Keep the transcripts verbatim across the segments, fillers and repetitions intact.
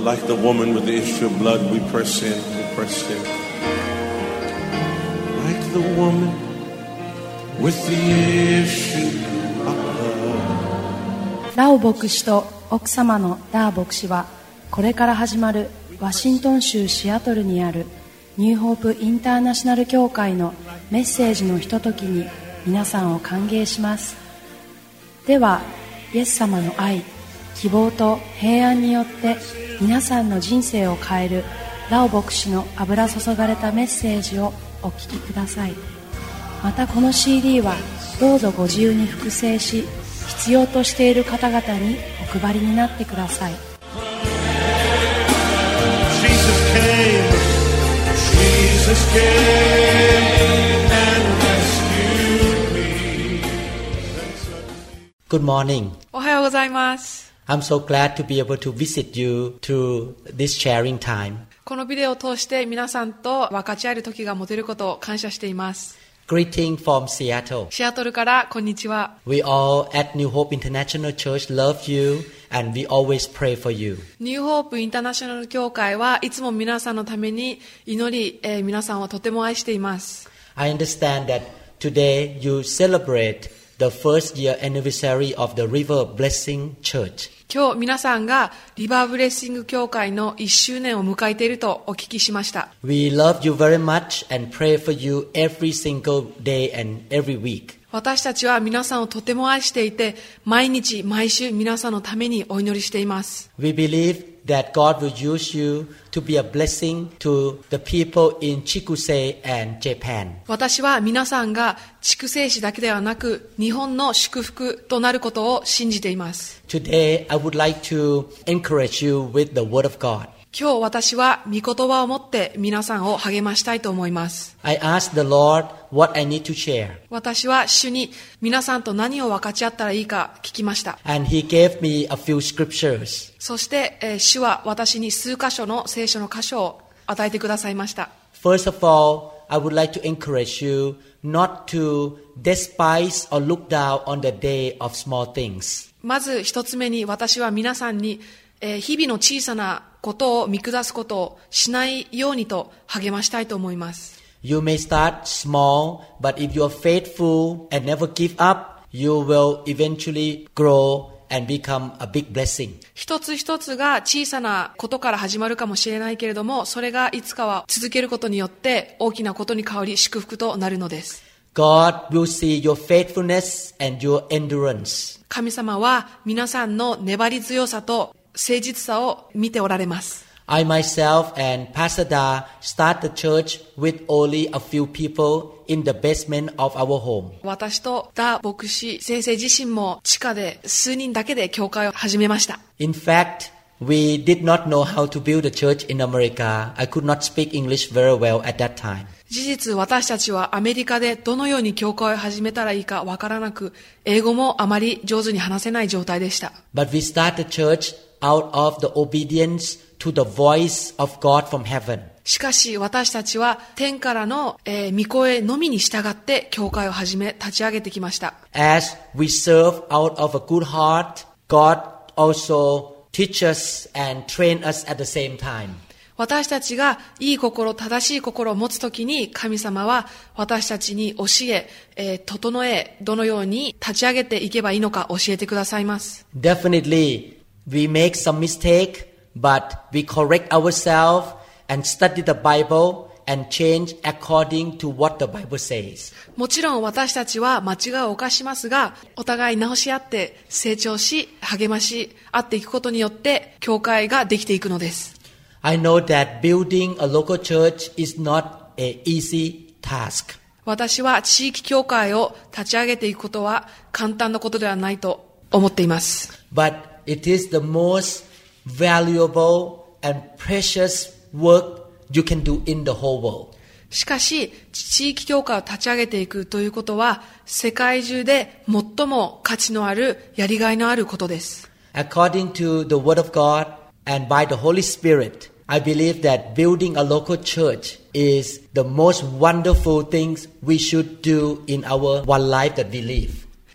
like the woman with the issue of blood, we press in, we press in. Like the woman with the issue of blood. ラオ牧師と奥様のダー牧師は、これから始まるワシントン州シアトルにあるニューホープインターナショナル教会のメッセージのひとときに皆さんを歓迎します。では、イエス様の愛、希望と平安によって皆さんの人生を変えるラオ牧師の油注がれたメッセージをお聞きください。またこの シーディー はどうぞご自由に複製し、必要としている方々にお配りになってください。 Jesus came, Jesus came and rescued me. Good morning. おはようございます。 I'm so glad to be able to visit you through this sharing time. このビデオを通して皆さんと分かち合える時が持てることを感謝しています。 Greeting from Seattle. シアトルからこんにちは。 We all at New Hope International Church love you and we always pray for you. ニューホープインターナショナル教会はいつも皆さんのために祈り、えー、皆さんをとても愛しています。 I understand that today you celebrate the first year anniversary of the River Blessing Church. 今日皆さんがリバーブレッシング教会のいっしゅうねんを迎えているとお聞きしました。 We love you very much and pray for you every single day and every week. 私たちは皆さんをとても愛していて、毎日毎週皆さんのためにお祈りしています。 We believe that God will use you to be a blessing to the people in Chikuse and Japan. 私は皆さんが筑西市だけではなく日本の祝福となることを信じています。 Today I would like to encourage you with the Word of God. 今日私は御言葉を持って皆さんを励ましたいと思います。 I asked the Lord what I need to share. 私は主に皆さんと何を分かち合ったらいいか聞きました。 And He gave me a few scriptures. そして、えー、主は私に数箇所の聖書の箇所を与えてくださいました。 First of all, I would like to encourage you not to despise or look down on the day of small things. まず一つ目に私は皆さんに、えー、日々の小さなことを見下すことをしないようにと励ましたいと思います。 You may start small, but if you are faithful and never give up, you will eventually grow and become a big blessing. 一つ一つが小さなことから始まるかもしれないけれども、それがいつかは続けることによって大きなことに変わり祝福となるのです。 God will see your faithfulness and your endurance. 神様は皆さんの粘り強さと誠実さを見ておられます。 I myself and Pastor Da start the church with only a few people in the basement of our home. 私とダ牧師先生自身も地下で数人だけで教会を始めました。 In fact, we did not know how to build a church in America. I could not speak English very well at that time. 事実私たちはアメリカでどのように教会を始めたらいいかわからなく、英語もあまり上手に話せない状態でした。 But we start the church out of the obedience to the voice of God from heaven. しかし私たちは天からの、えー、御声のみに従って教会を始め立ち上げてきました。 As we serve out of a good heart, God also teaches and train us at the same time. 私たちがいい心、正しい心を持つときに神様は私たちに教え、えー、整え、どのように立ち上げていけばいいのか教えてくださいます。 Definitely, we make some mistake, but we correct ourselves and study the Bible and change according to what the Bible says. もちろん私たちは間違いを犯しますが、お互い直し合って成長し、励まし合っていくことによって教会ができていくのです。 I know that building a local church is not an easy task. 私は地域教会を立ち上げていくことは簡単なことではないと思っています。 But it is the most valuable and precious work you can do in the whole world. しかし、地域教会を立ち上げていくということは、世界中で最も価値のある、やりがいのあることです。 According to the Word of God and by the Holy Spirit, I believe that building a local church is the most wonderful thing we should do in our one life that we live.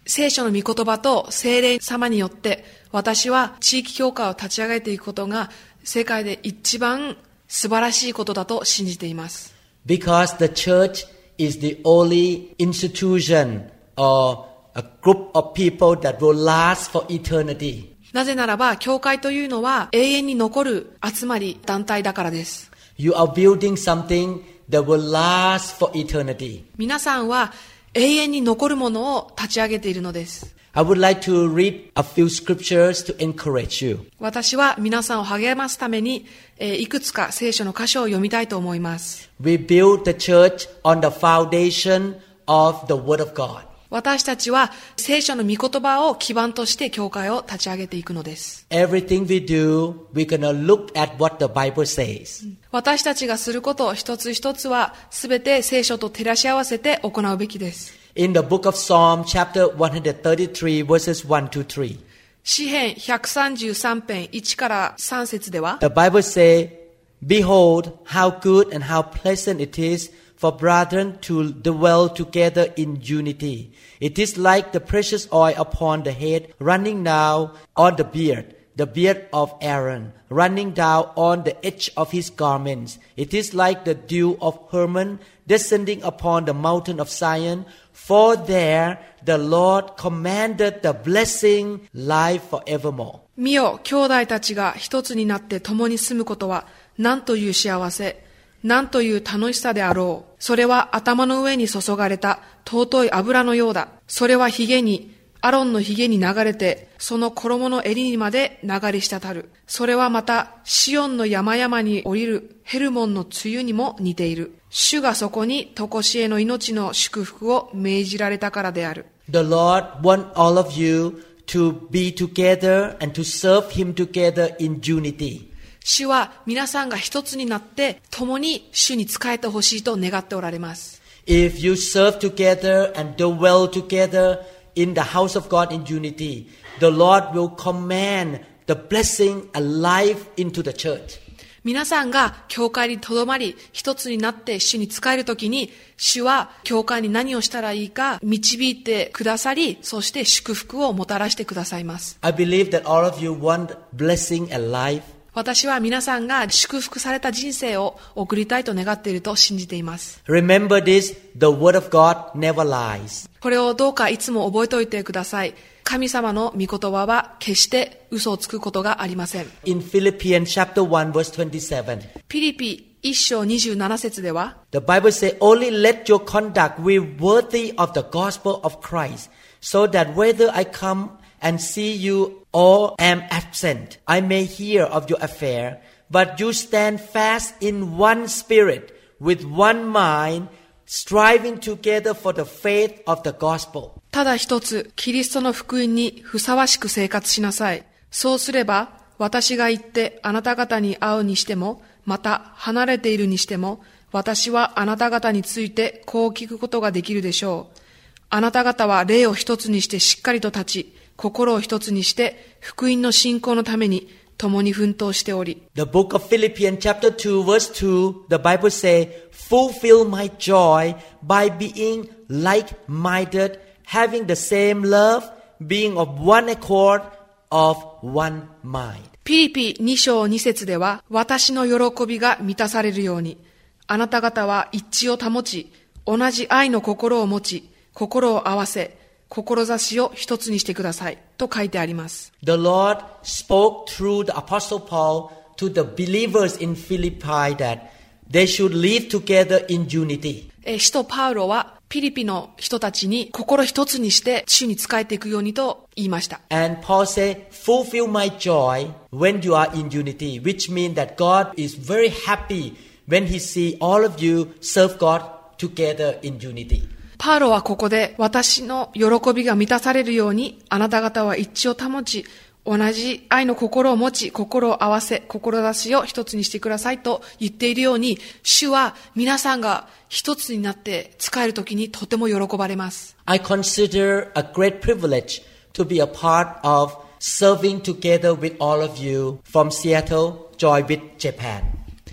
聖書の御言葉と聖霊様によって私は地域教会を立ち上げていくことが世界で一番素晴らしいことだと信じています。 Because the church is the only institution or a group of people that will last for eternity. なぜならば教会というのは永遠に残る集まり団体だからです。 You are building something that will last for eternity. 皆さんは永遠に残るものを立ち上げているのです。 I would like to read a few scriptures to encourage you. 私は皆さんを励ますために、えー、いくつか聖書の箇所を読みたいと思います。 We build the church on the foundation of the Word of God. 私たちは聖書の御言葉を基盤として教会を立ち上げていくのです。 Everything we do, we're going to look at what the Bible says. 私たちがすること一つ一つはすべて聖書と照らし合わせて行うべきです。 In the book of Psalm, chapter one thirty-three, verses one to three. 詩編ひゃくさんじゅうさん編いちからさん節では、 The Bible says, Behold, how good and how pleasant it is for brethren to dwell together in unity. It is like the precious oil upon the head, running down on the beard, the beard of Aaron, running down on the edge of his garments. It is like the dew of Hermon, descending upon the mountain of Zion. For there the Lord commanded the blessing, life forevermore. 見よ、兄弟たちが一つになって共に住むことは、何という幸せ、何という楽しさであろう。それは頭の上に注がれた尊い油のようだ。それは髭に、アロンの髭に流れて、その衣の襟にまで流れ滴る。それはまた、シオンの山々に降りるヘルモンの梅雨にも似ている。主がそこに常しえの命の祝福を命じられたからである。 The Lord wants all of you to be together and to serve Him together in unity. 主は皆さんが一つになって共に主に仕えてほしいと願っておられます。 If you serve together and dwell together in the house of God in unity, the Lord will command the blessing and life into the church. 皆さんが教会にとどまり一つになって主に仕えるときに、主は教会に何をしたらいいか導いてくださり、そして祝福をもたらしてくださいます。 I believe that all of you want blessing and life. 私は皆さんが祝福された人生を送りたいと願っていると信じています。 Remember this, the word of God never lies. これをどうかいつも覚えておいてください。神様の御言葉は決して嘘をつくことがありません。 In Philippians chapter one verse twenty-seven. ピリピ一章二十七節では、 The Bible says, Only let your conduct be worthy of the gospel of Christ, so that whether I come and see you or am absent, I may hear of your affair, but you stand fast in one spirit, with one mind, striving together for the faith of the gospel. ただ一つ、キリストの福音にふさわしく生活しなさい。そうすれば、私が行ってあなた方に会うにしても、また離れているにしても、私はあなた方についてこう聞くことができるでしょう。あなた方は霊を一つにしてしっかりと立ち、心を一つにして福音の信仰のために共に奮闘しており。 The book of Philippians chapter two verse two, the Bible says, Fulfill my joy by being like-minded, having the same love, being of one accord, of one mind. ピリピに章に節では、私の喜びが満たされるように、あなた方は一致を保ち、同じ愛の心を持ち、心を合わせ、志を一つにしてくださいと書いてあります。 The Lord spoke through the Apostle Paul to the believers in Philippi that they should live together in unity. 使徒パウロはピリピの人たちに心一つにして主に仕えていくようにと言いました。 And Paul said, fulfill my joy when you are in unity, which means that God is very happy when He sees all of you serve God together in unity. パウロはここで私の喜びが満たされるようにあなた方は一致を保ち同じ愛の心を持ち心を合わせ志を一つにしてくださいと言っているように主は皆さんが一つになって仕えるときにとても喜ばれます。 I consider a great privilege to be a part of serving together with all of you from Seattle, Joy with Japan.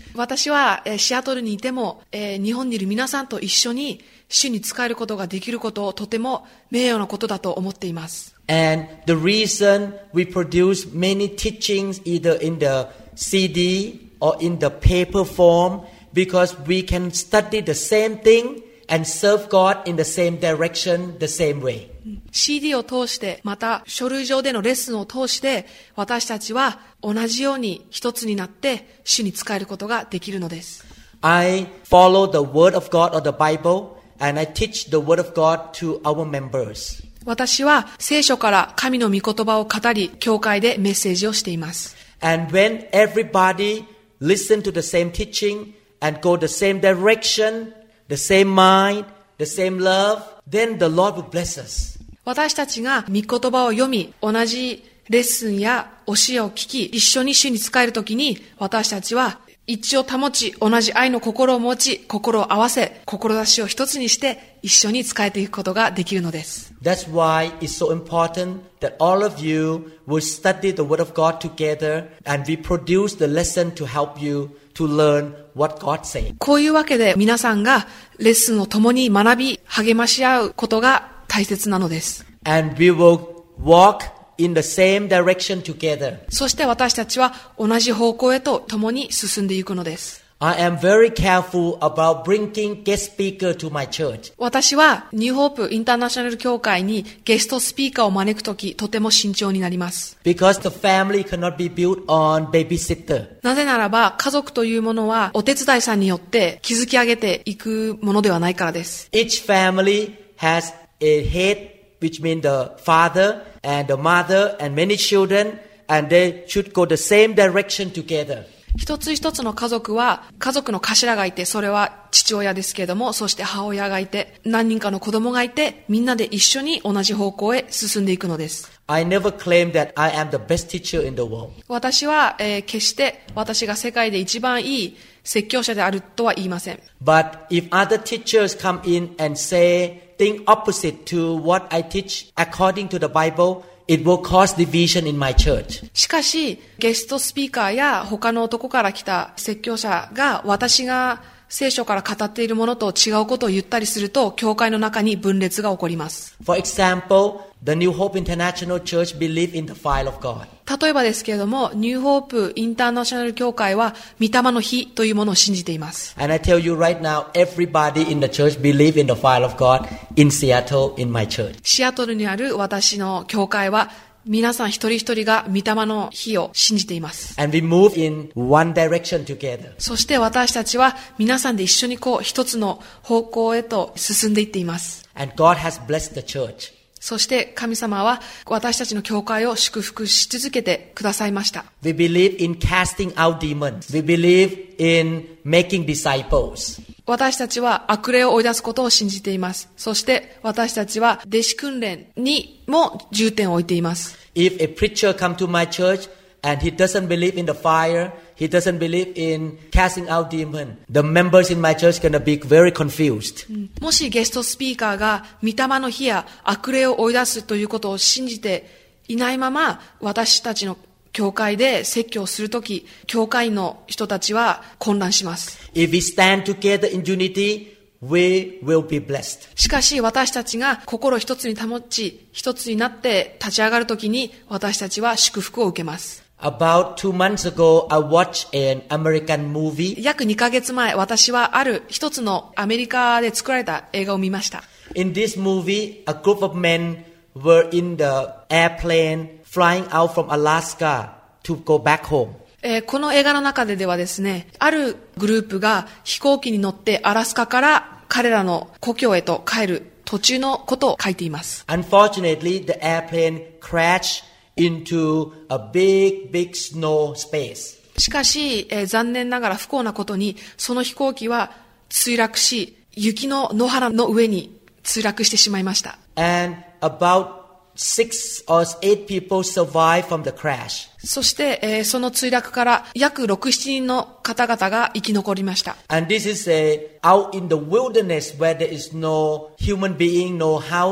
私はえーシアトルにいても、えー日本にいる皆さんと一緒に主に仕えることができることをとても名誉なことだと思っています。 And the reason we produce many teachings either in the C D or in the paper form because we can study the same thing and serve God in the same direction, the same way. シーディー を通して、また書類上でのレッスンを通して、私たちは同じように一つになって主に仕えることができるのです。 I follow the Word of God or the Bible and I teach the Word of God to our members. 私は聖書から神の御言葉を語り、教会でメッセージをしています。 And when everybody listen to the same teaching and go the same direction, the same mind, the same love, then the Lord will bless us. 私たちが御言葉を読み、同じレッスンや教えを聞き、一緒に主に仕えるときに、私たちは一致を保ち、同じ愛の心を持ち、心を合わせ、志を一つにして、一緒に仕えていくことができるのです。 That's why it's so important that all of you will study the Word of God together and we produce the lesson to help you to learn what God said. こういうわけで皆さんがレッスンを共に学び、励まし合うことが大切なのです。 And we will walk in the same direction together. そして私たちは同じ方向へと共に進んでいくのです。 I am very careful about bringing guest speaker to my church. 私はニューホープインターナショナル教会にゲストスピーカーを招くとき、とても慎重になります。 Because the family cannot be built on babysitter. なぜならば、家族というものはお手伝いさんによって築き上げていくものではないからです。 Each family has a head, which means the father and the mother and many children, and they should go the same direction together. 一つ一つの家族は、家族の頭がいて、それは父親ですけれども、そして母親がいて、何人かの子供がいて、みんなで一緒に同じ方向へ進んでいくのです。 I never claim that I am the best teacher in the world. 私は、えー、決して私が世界で一番いい説教者であるとは言いません。 But if other teachers come in and say things opposite to what I teach according to the Bible, it will cause division in my church. しかし、ゲストスピーカーや他の男から来た説教者が私が聖書から語っているものと違うことを言ったりすると、教会の中に分裂が起こります。 For example, the New Hope International Church believe in the fire of God. 例えばですけれども、ニューホープインターナショナル教会は御霊の火というものを信じています。 And I tell you right now, everybody in the church believe in the fire of God in Seattle, in my church. シアトルにある私の教会は、皆さん一人一人が御霊の火を信じています。 And we move in one direction together. そして私たちは皆さんで一緒にこう一つの方向へと進んでいっています。 And God has blessed the church. そして神様は私たちの教会を祝福し続けてくださいました。 We believe in casting out demons. We believe in making disciples. 私たちは悪霊を追い出すことを信じています。そして私たちは弟子訓練にも重点を置いています。 If a preacher come to my church and he doesn't believe in the fire, he doesn't believe in casting out demons, the members in my church are going to be very confused. もしゲストスピーカーが御霊の火や悪霊を追い出すということを信じていないまま、私たちの教会で説教するとき、教会の人たちは混乱します。 If we stand together in unity, we will be blessed. しかし私たちが心一つに保ち、一つになって立ち上がるときに、私たちは祝福を受けます。 About two months ago, I watched an American movie. 約にかげつまえ、私はある一つのアメリカで作られた映画を見ました。 In this movie, a group of men were in the airplane flying out from Alaska to go back home. えー、この映画の中でではですね、あるグループが飛行機に乗ってアラスカから彼らの故郷へと帰る途中のことを書いています。 Unfortunately, the airplane crashed into a big, big snow space. しかし、えー、残念ながら不幸なことに、その飛行機は墜落し、雪の野原の上に墜落してしまいました。 And about six or eight people survived from the crash. そして、えー、その墜落から約ろく、しちにんの方々が生き残りました。 And this is a out in the wilderness where there is no human being, no house,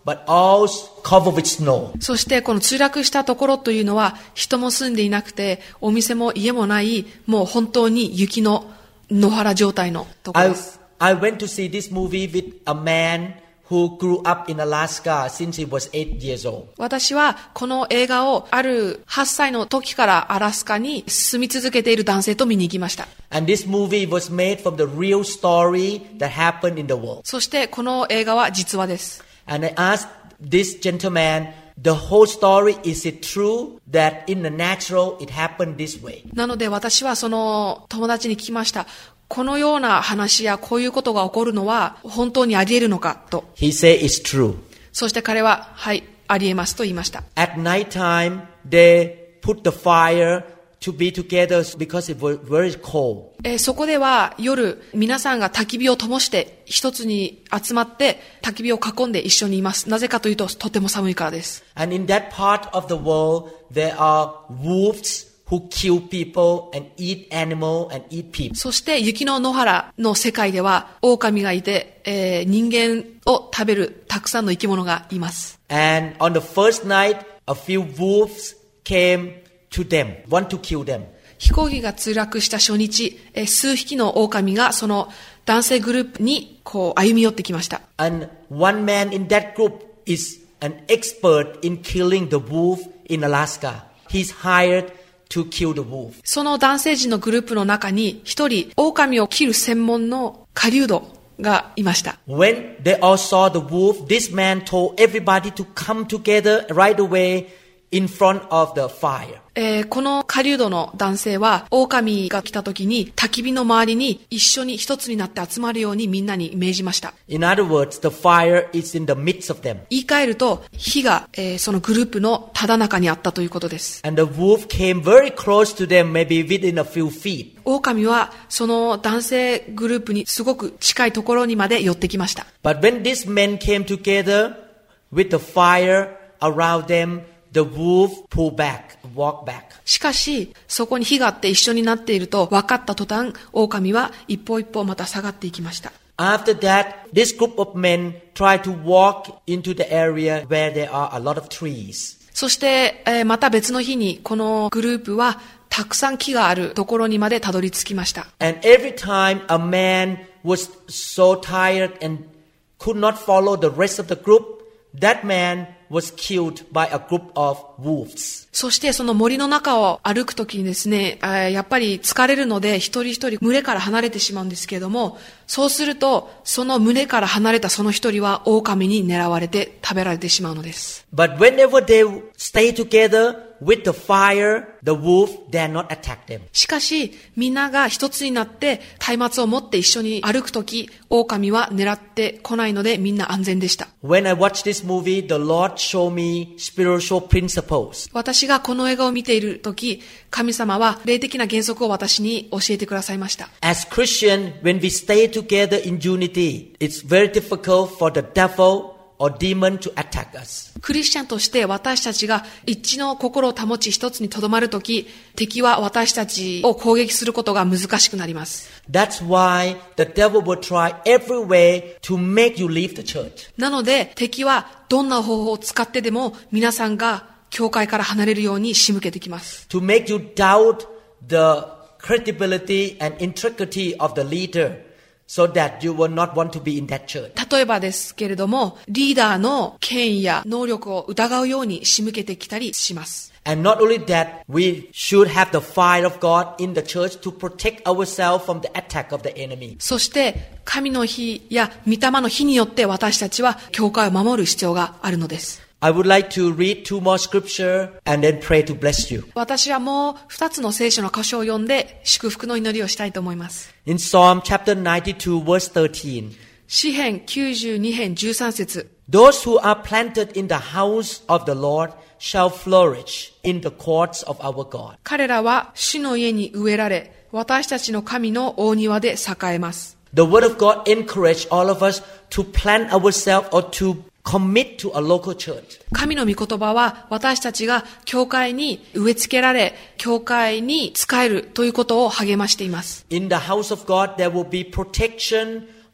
but all covered with snow. そしてこの墜落したところというのは人も住んでいなくてお店も家もないもう本当に雪の野原状態のところ I, です。 I went to see this movie with a man who grew up in Alaska since he was eight years old. 私はこの映画をあるはっさいの時からアラスカに住み続けている男性と見に行きました。 And this movie was made from the real story that happened in the world. そしてこの映画は実話です。 And I asked this gentleman, the whole story, is it true that in the natural it happened this way? なので私はその友達に聞きました。このような話やこういうことが起こるのは本当にあり得るのかと。 He said it's true. そして彼は、はい、あり得ますと言いました。 At night time, they put the fire to be together because it was very cold. えー、そこでは夜皆さんが焚き火を灯して一つに集まって焚き火を囲んで一緒にいます。なぜかというととても寒いからです。 And in that part of the world, there are wolves who kill people and eat animal and eat people. そして雪の野原の世界では狼がいて、えー、人間を食べるたくさんの生き物がいます。 And on the first night, a few wolves came to them, want to kill them. 飛行機が墜落した初日、えー、数匹の狼がその男性グループにこう歩み寄ってきました。 And one man in that group is an expert in killing the wolf in Alaska. He's hired to kill the wolf. その男性陣のグループの中に一人狼を切る専門の狩人がいました。 When they all saw the wolf, this man told everybody to come together right away in front of the fire. えー、この狩人の男性は狼が来た時に焚き火の周りに一緒に一つになって集まるようにみんなに命じました。 In other words, the fire is in the midst of them. 言い換えると火が、えー、そのグループのただ中にあったということです。 And the wolf came very close to them, maybe within a few feet. 狼はその男性グループにすごく近いところにまで寄ってきました。 But when these men came together with the fire around them, the wolf pulled back, walked back. しかし、そこに火があって一緒になっていると分かった途端、狼は一歩一歩また下がっていきました。 After that, this group of men tried to walk into the area where there are a lot of trees. そして、えー、また別の日にこのグループはたくさん木があるところにまでたどり着きました。 And every time a man was so tired and could not follow the rest of the group, that man was killed by a group of wolves. そしてその森の中を歩くときにですね、やっぱり疲れるので一人一人群れから離れてしまうんですけれども、そうするとその群れから離れたその一人は狼に狙われて食べられてしまうのです。 But whenever they stay together with the fire, the wolf dare not attack them. しかしみんなが一つになって松明を持って一緒に歩くとき、狼は狙ってこないのでみんな安全でした。 When I watched this movie, the Lord showed me spiritual principles. 私がこの映画を見ているとき、神様は霊的な原則を私に教えてくださいました。 As Christians, when we stay together in unity, it's very difficult for the devil or demon to attack us. クリスチャンとして私たちが一致の心を保ち一つにとどまるとき、敵は私たちを攻撃することが難しくなります。 That's why the devil will try every way to make you leave the church. なので敵はどんな方法を使ってでも皆さんが教会から離れるように仕向けてきます。 To make you doubt the credibility and integrity of the leader.So that you will not want to be in that church. 例えばですけれども、リーダーの権威や能力を疑うように仕向けてきたりします。 And not only that, we should have the fire of God in the church to protect ourselves from the attack of the enemy. そして神の火や御霊の火によって私たちは教会を守る必要があるのです。 I would like to read two more scripture and then pray to bless you. 私はもう二つの聖書の箇所を読んで祝福の祈りをしたいと思います。 In Psalm chapter ninety-two verse thirteen. 詩編きゅうじゅうに編じゅうさん節。 Those who are planted in the house of the Lord shall flourish in the courts of our God. 彼らは主の家に植えられ、私たちの神の大庭で栄えます。 The word of God encourage all of us to plant ourselves or to commit to a local church. 神の御言葉は私たちが教会に植え付けられ、教会に仕えるということを励ましています。 In the house of God there will be protection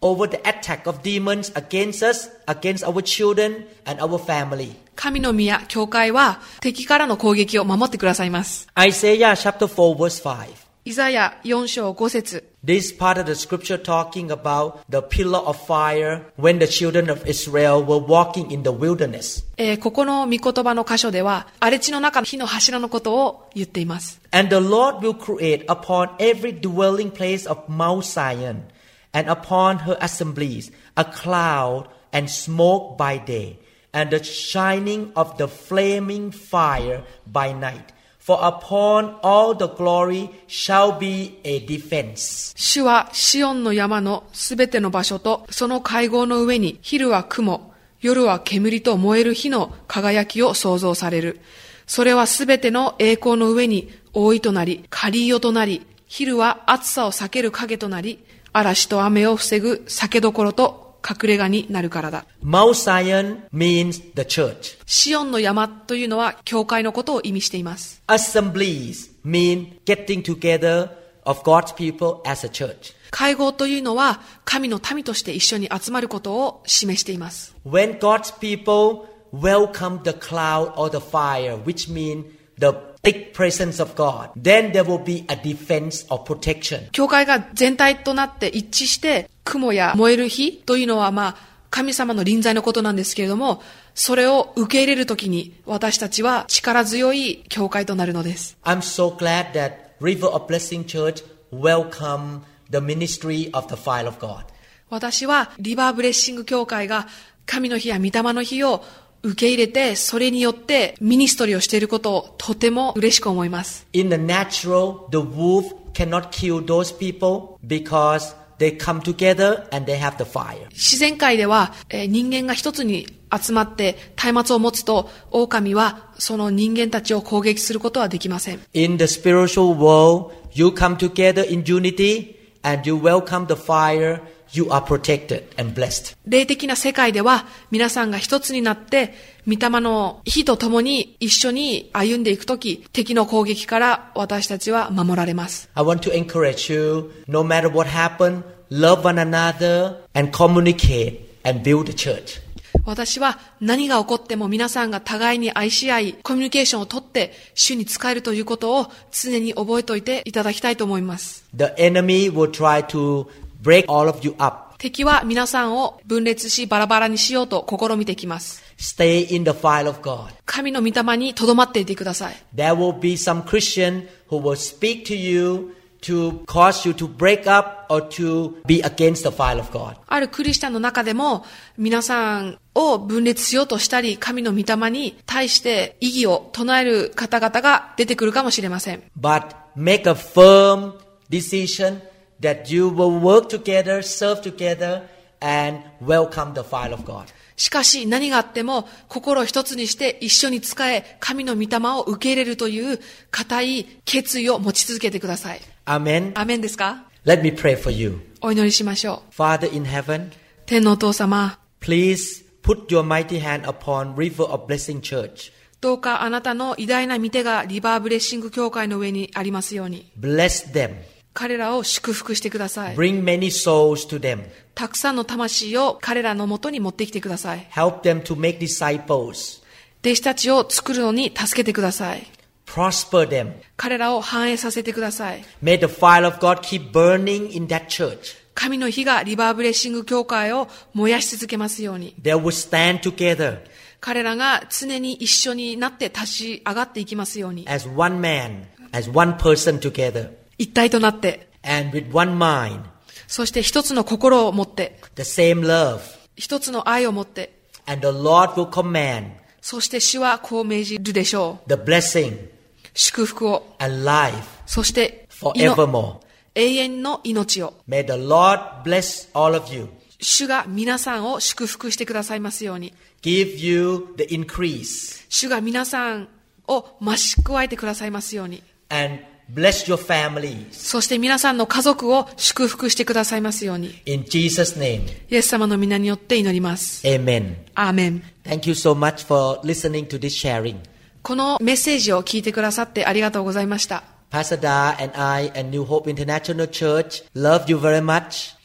over the attack of demons against us, against our children and our family. 神の宮、教会は敵からの攻撃を守ってくださいます。 Isaiah chapter four verse five. イザヤよん章ご節。 This part of the scripture talking about the pillar of fire when the children of Israel were walking in the wilderness. えー、ここの御言葉の箇所では、荒れ地の中の火の柱のことを言っています。 And the Lord will create upon every dwelling place of Mount Zion and upon her assemblies a cloud and smoke by day and the shining of the flaming fire by night.For upon all the glory shall be a defense. 主はシオンの山のすべての場所とその会合の上に昼は雲、夜は煙と燃える火の輝きを創造される。それはすべての栄光の上に覆いとなり、カリーヨとなり、昼は暑さを避ける影となり、嵐と雨を防ぐ酒どころと隠れ家になるからだ。 Mount Zion means the church. シオンの山というのは教会のことを意味しています。 Assemblies mean getting together of God's people as a church. 会合というのは神の民として一緒に集まることを示しています。 When God's people welcome the cloud or the fire, which mean the thick presence of God, then there will be a defense or protection. 教会が全体となって一致して雲や燃える火というのはまあ神様の臨在のことなんですけれども、それを受け入れるときに私たちは力強い教会となるのです。 I'm so glad that River of Blessing Church welcome the ministry of the fire of God. 私はリバーブレッシング教会が神の火や御霊の火を受け入れて、それによってミニストリーをしていることをとても嬉しく思います。 In the natural, the wolf cannot kill those people because they come together and they have the fire. 自然界では、えー、人間が一つに集まって松明を持つと、狼はその人間たちを攻撃することはできません。 In the spiritual world, you come together in unity and you welcome the fire.You are protected and blessed. 霊的な世界では皆さんが一つになって御霊の火と共に一緒に歩んでいくとき、敵の攻撃から私たちは守られます。 I want to encourage you, no matter what happens, love one another and communicate and build the church. 私は何が起こっても皆さんが互いに愛し合い、コミュニケーションをとって主に仕えるということを常に覚えておいていただきたいと思います。 The enemy will try to break all of you up. 敵は皆さんを分裂しバラバラにしようと試みてきます。 Stay in the fire of God. 神の御霊にとどまっていてください。 There will be some Christian who will speak to you to cause you to break up or to be against the fire of God. あるクリスチャンの中でも皆さんを分裂しようとしたり、神の御霊に対して異議を唱える方々が出てくるかもしれません。 But make a firm decision.That you will work together, serve together, and welcome the fire of God. しかし何があっても心を一つにして一緒に仕え、神の御霊を受け入れるという固い決意を持ち続けてください。 アメン。 アメンですか？ Let me pray for you. お祈りしましょう。 Father in heaven, 天のお父様、 please put your mighty hand upon River of Blessing Church. どうかあなたの偉大な御手がリバーブレッシング教会の上にありますように。 Bless them. 彼らを祝福してください。 Bring many souls to them. たくさんの魂を彼らのもとに持ってきてください。 Help them to make disciples. 弟子たちを作るのに助けてください。 Prosper them. 彼らを繁栄させてください。 May the fire of God keep burning in that church. 神の火がリバーブレッシング教会を燃やし続けますように。 They will stand together. 彼らが常に一緒になって立ち上がっていきますように。 As one man, as one person together. 一体となって、 and with one mind, そして一つの心を持って、 the same love, 一つの愛を持って、 and the Lord will command, そして主はこう命じるでしょう。 the blessing, 祝福を、 and life, そして forevermore. 永遠の命を。 May the Lord bless all of you. 主が皆さんを祝福してくださいますように。 Give you the increase. 主が皆さんを増し加えてくださいますように。 And bless your families. そして皆さんの家族を祝福してくださいますように。 In Jesus' name. イエス様の皆によって祈ります。 Amen. アーメン。 Thank you so much for listening to this sharing. このメッセージを聞いてくださってありがとうございました。 Pastor Da and I and New Hope International Church love you very much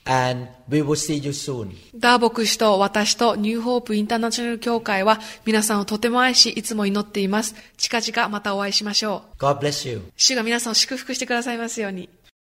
and we will see you soon. ダー牧師と私とニューホープインターナショナル教会は皆さんをとても愛し、いつも祈っています。近々またお会いしましょう。 God bless you. 主が皆さんを祝福してくださいますように。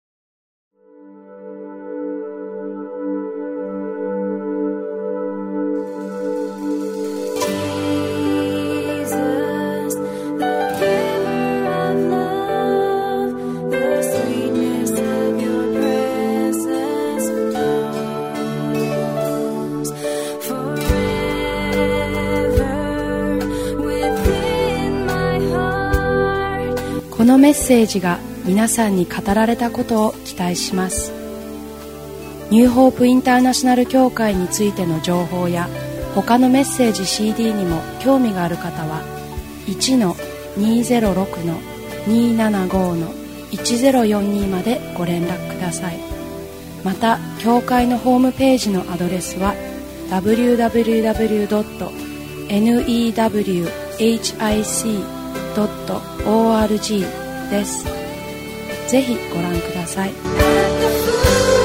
このメッセージが皆さんに語られたことを期待します。ニューホープインターナショナル教会についての情報や他のメッセージ シーディー にも興味がある方は いちのにゼロろくのにーななごのいちゼロよんに までご連絡ください。また教会のホームページのアドレスは ダブリューダブリューダブリュードットニューホープドットオーアールジー です。ぜひご覧ください。